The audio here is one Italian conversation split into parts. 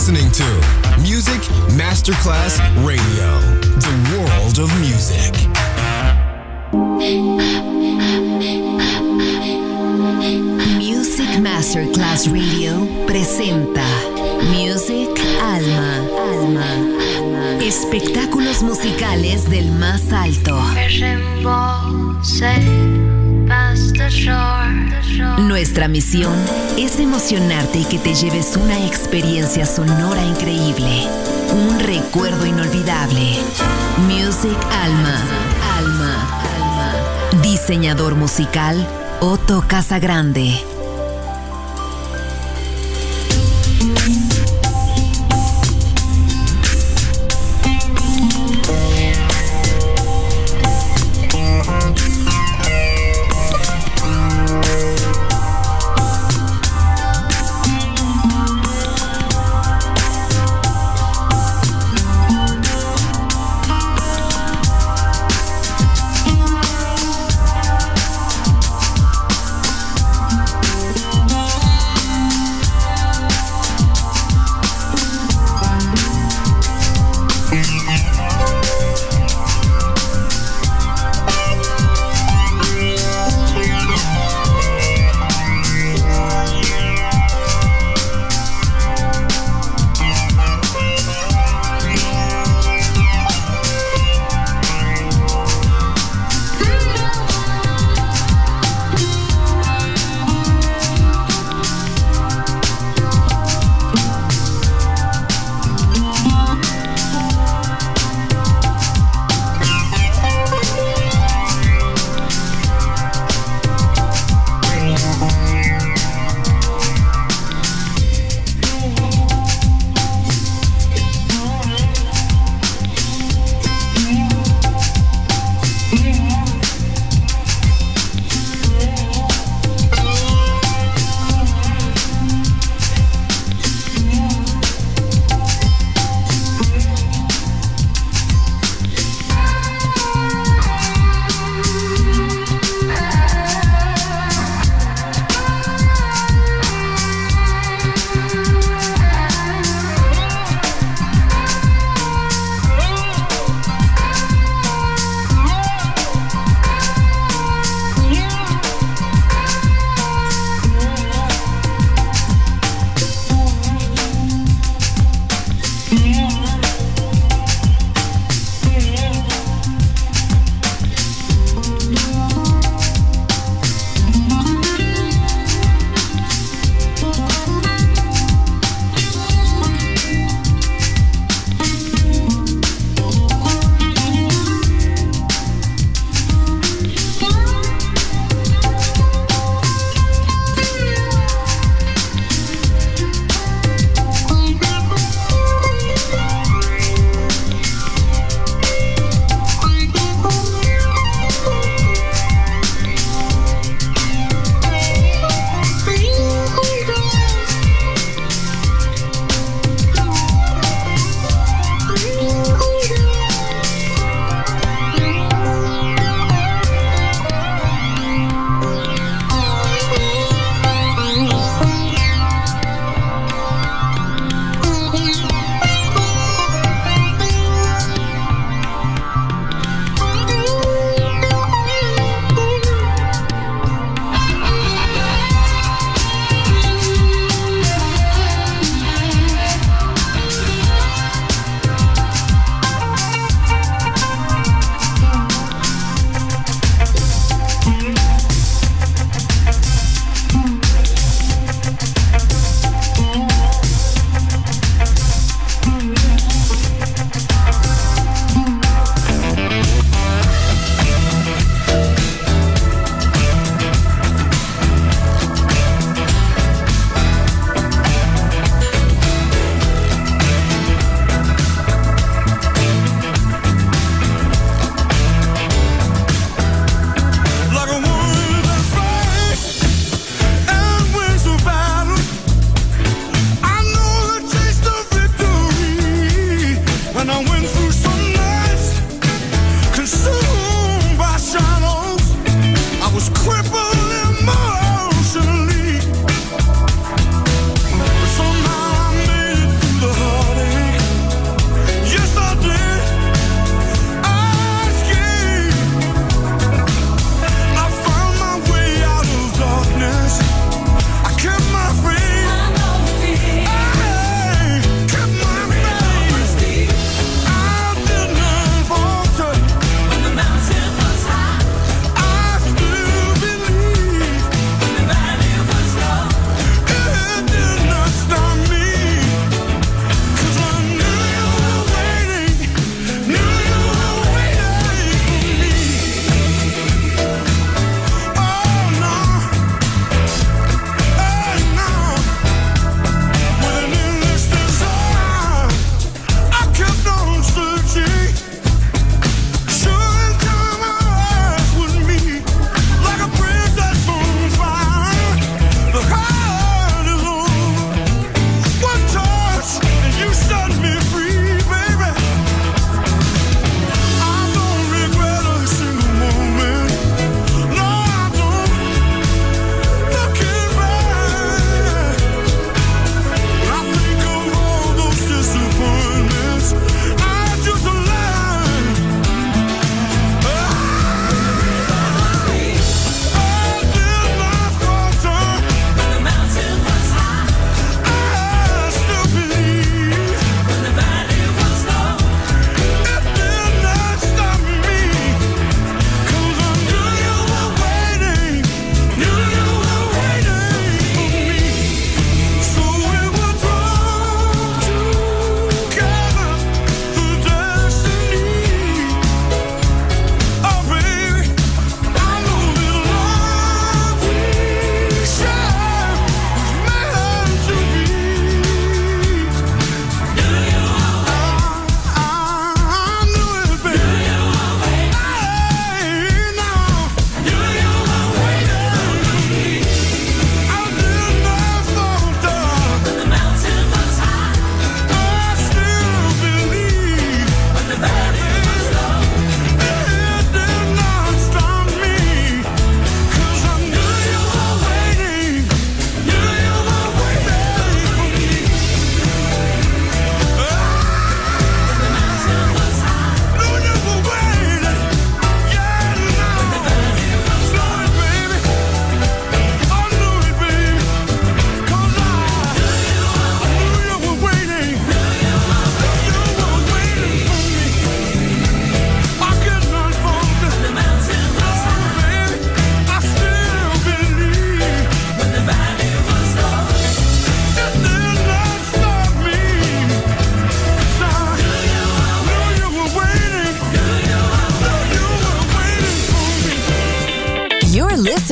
listening to Music Masterclass Radio, the world of music. Music Masterclass Radio presenta Music Alma. Espectáculos musicales del más alto. Nuestra misión es emocionarte y que te lleves una experiencia sonora increíble, un recuerdo inolvidable. Music Alma. Diseñador musical Otto Casagrande.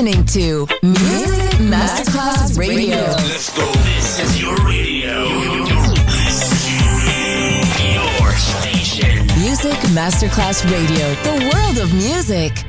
listening to Music Masterclass Radio. Let's go. This is your radio. Your station. Music Masterclass Radio. The world of music.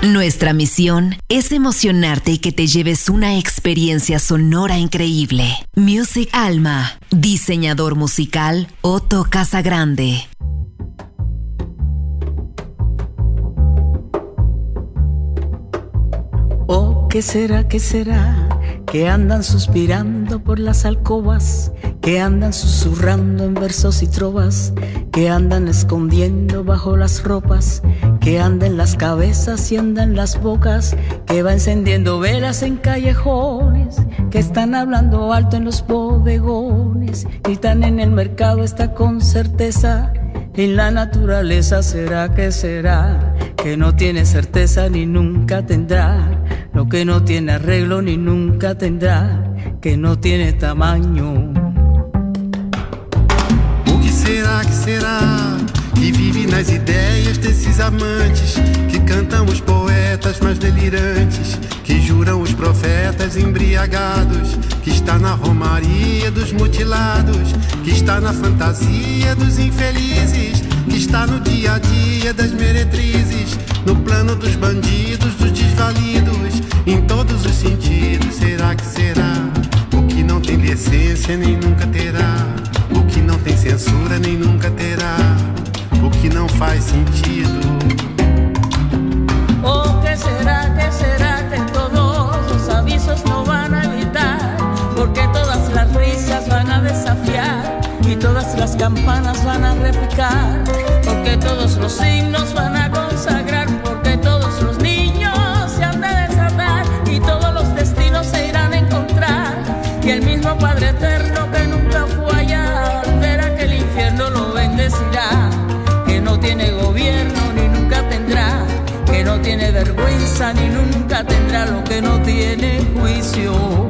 Nuestra misión es emocionarte y que te lleves una experiencia sonora increíble. Music Alma, diseñador musical Otto Casagrande. Oh, ¿qué será, que andan suspirando por las alcobas, que andan susurrando en versos y trovas, que andan escondiendo bajo las ropas, que andan en las cabezas y andan en las bocas, que va encendiendo velas en callejones, que están hablando alto en los bodegones, y están en el mercado, está con certeza, en la naturaleza? ¿Será, que no tiene certeza ni nunca tendrá? Lo que no tiene arreglo ni nunca tendrá, que não tiene tamanho. O que será que vive nas ideias desses amantes, que cantam os poetas mais delirantes, que juram os profetas embriagados, que está na romaria dos mutilados, que está na fantasia dos infelizes, que está no dia a dia das meretrizes, no plano dos bandidos, dos desvalidos, em todos os sentidos. Será que será? O que não tem decência nem nunca terá, o que não tem censura nem nunca terá, o que não faz sentido. Oh, ¿qué será, que todos los avisos no van a evitar? Porque todas las risas van a desafiar y todas las campanas van a repicar, porque todos los himnos van a consagrar, porque todos los niños se han de desatar y todos los destinos se irán a encontrar, y el mismo Padre Eterno que nunca fue allá, al ver aquel infierno lo bendecirá, que no tiene gobierno ni nunca tendrá, que no tiene vergüenza ni nunca tendrá, lo que no tiene juicio.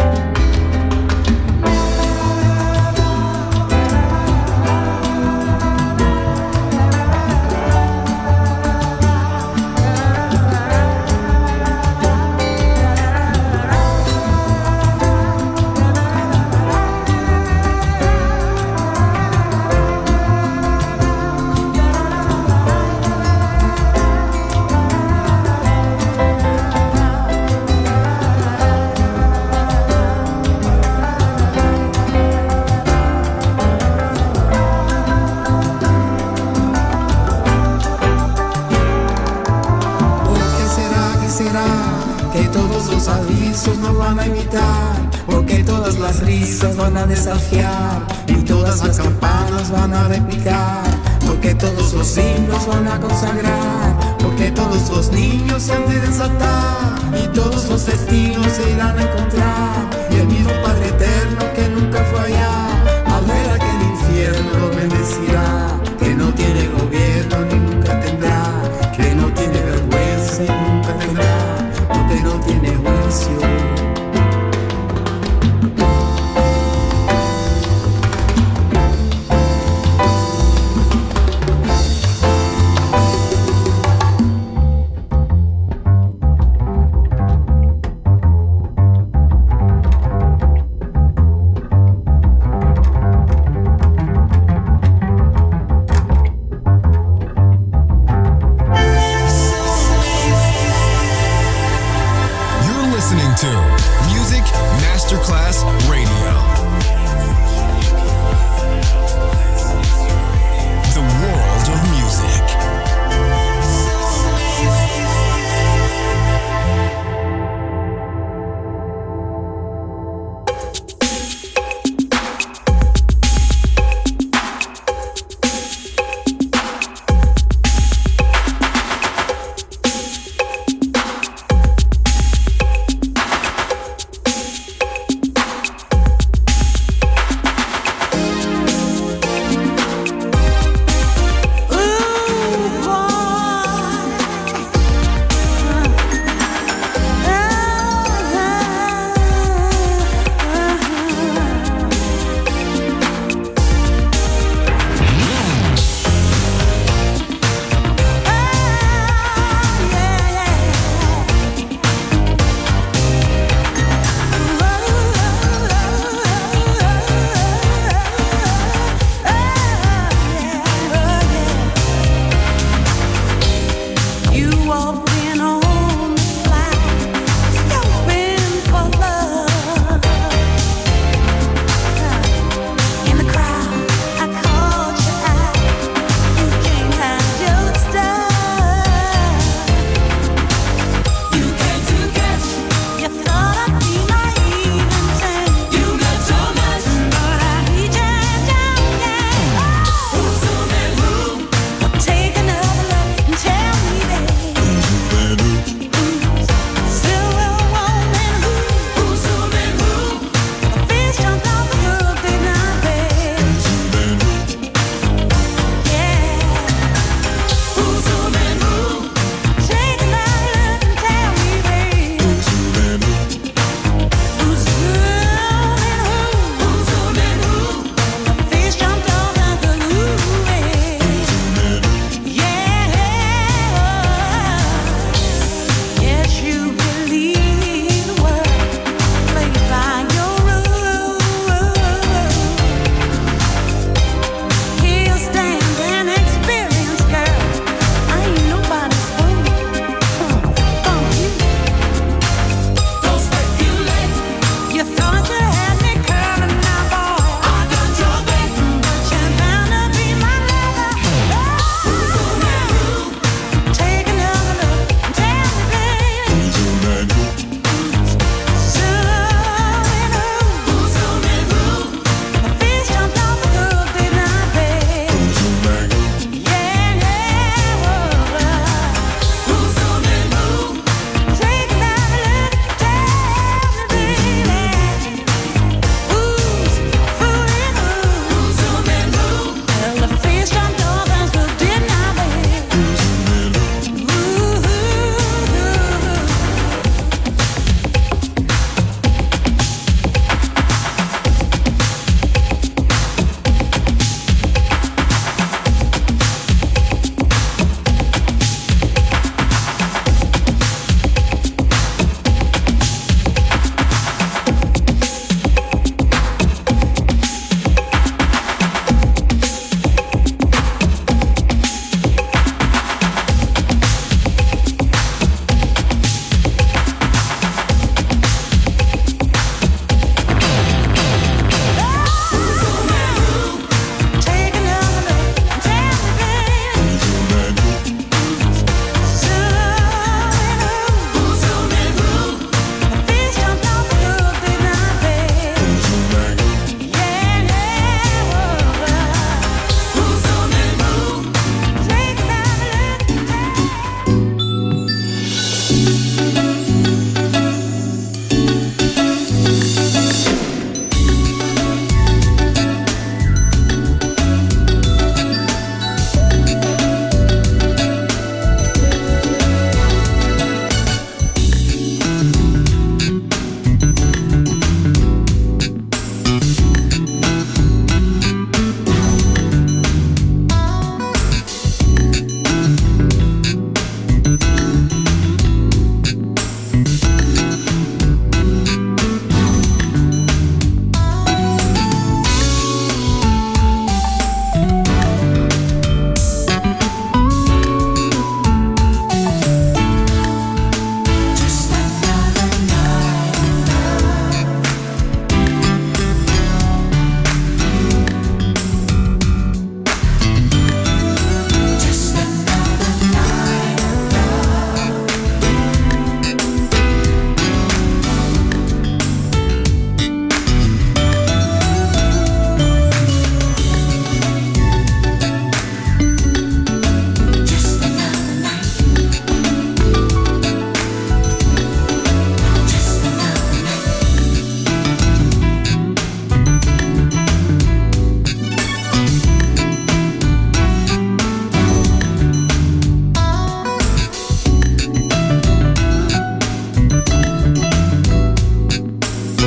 Porque todas las risas van a desafiar y todas las campanas van a repicar, porque todos los himnos van a consagrar, porque todos los niños se han de desatar y todos los destinos se irán a encontrar, y el mismo Padre Eterno que nunca fue allá, al ver aquel infierno lo bendecirá, que no tiene gobierno ni nunca tendrá, que no tiene vergüenza y nunca tendrá, porque no tiene juicio.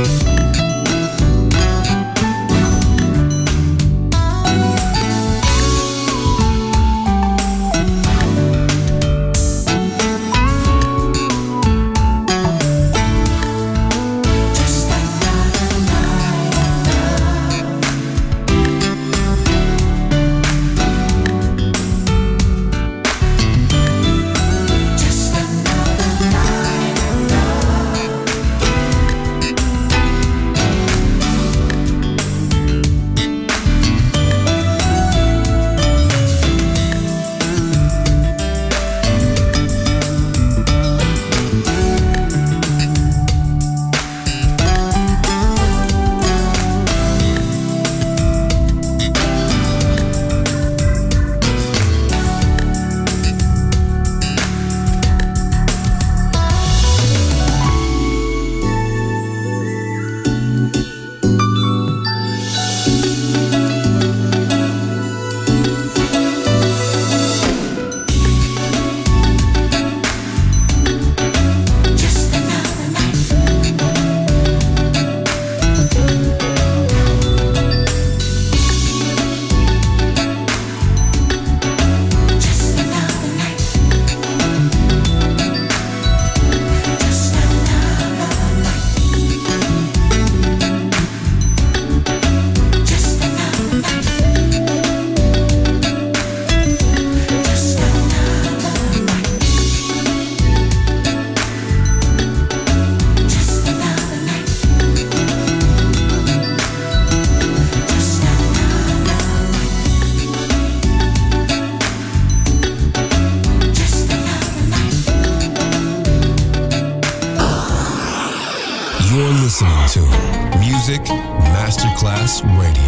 listening to Music Masterclass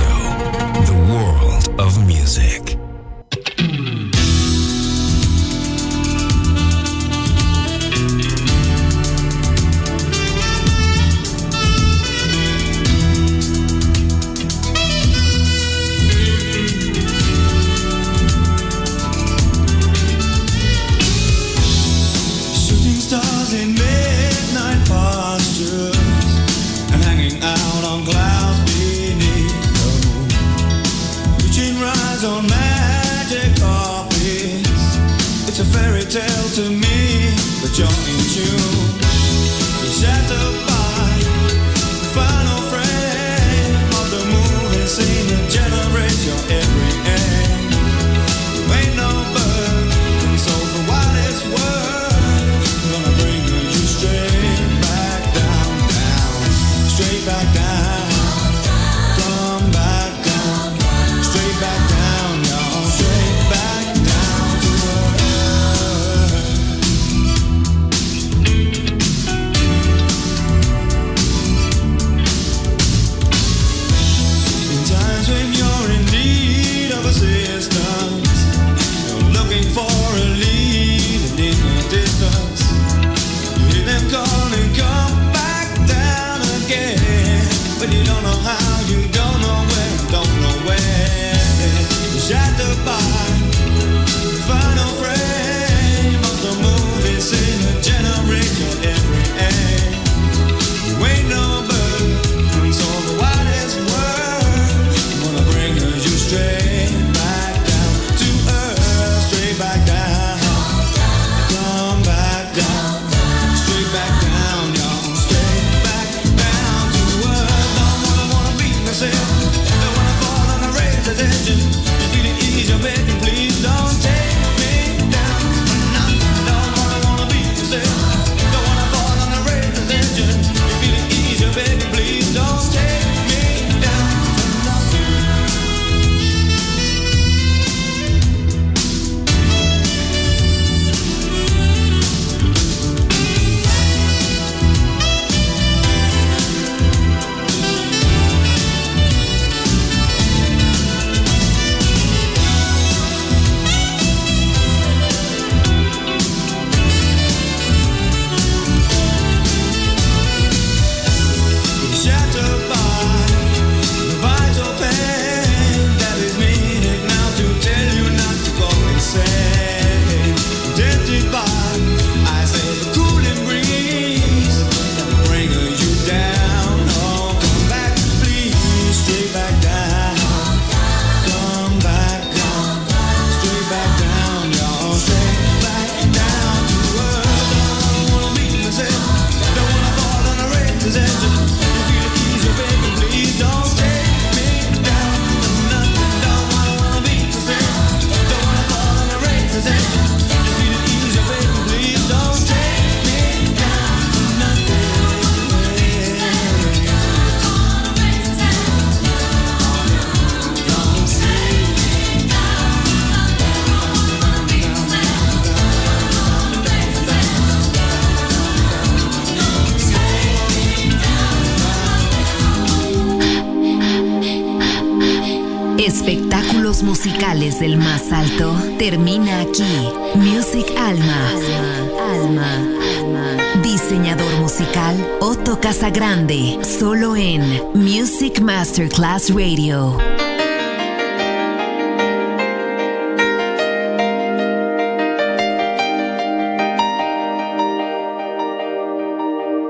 Radio, the world of music. Tell to me that you're in tune, shattered by the final frame of the moving scene that generates your every aim. You ain't no bird, and so for what it's worth, I'm gonna bring you straight back down, down, straight back down, come back down, straight back down, y'all, straight back down to earth. When you're in need of assistance, you're looking for a lead and in the distance, you hear them calling, come back down again, but you don't know how, you don't know where, don't know where. You're shattered by the final frame of the movie scene that generates your every aim. You ain't no bird, and so the wildest word straight back down to earth, straight back down, come back down, straight back down, y'all, straight back down to earth. Don't wanna beat myself, don't wanna fall on a razor's edge. You feel it ease, you're begging, please don't take me down. Don't wanna beat myself, don't wanna fall on a razor's edge. You feel it ease, you're begging, please don't take me down. Shattered espectáculos musicales del más alto termina aquí. Music Alma. Diseñador musical Otto Casagrande, solo en Music Masterclass Radio.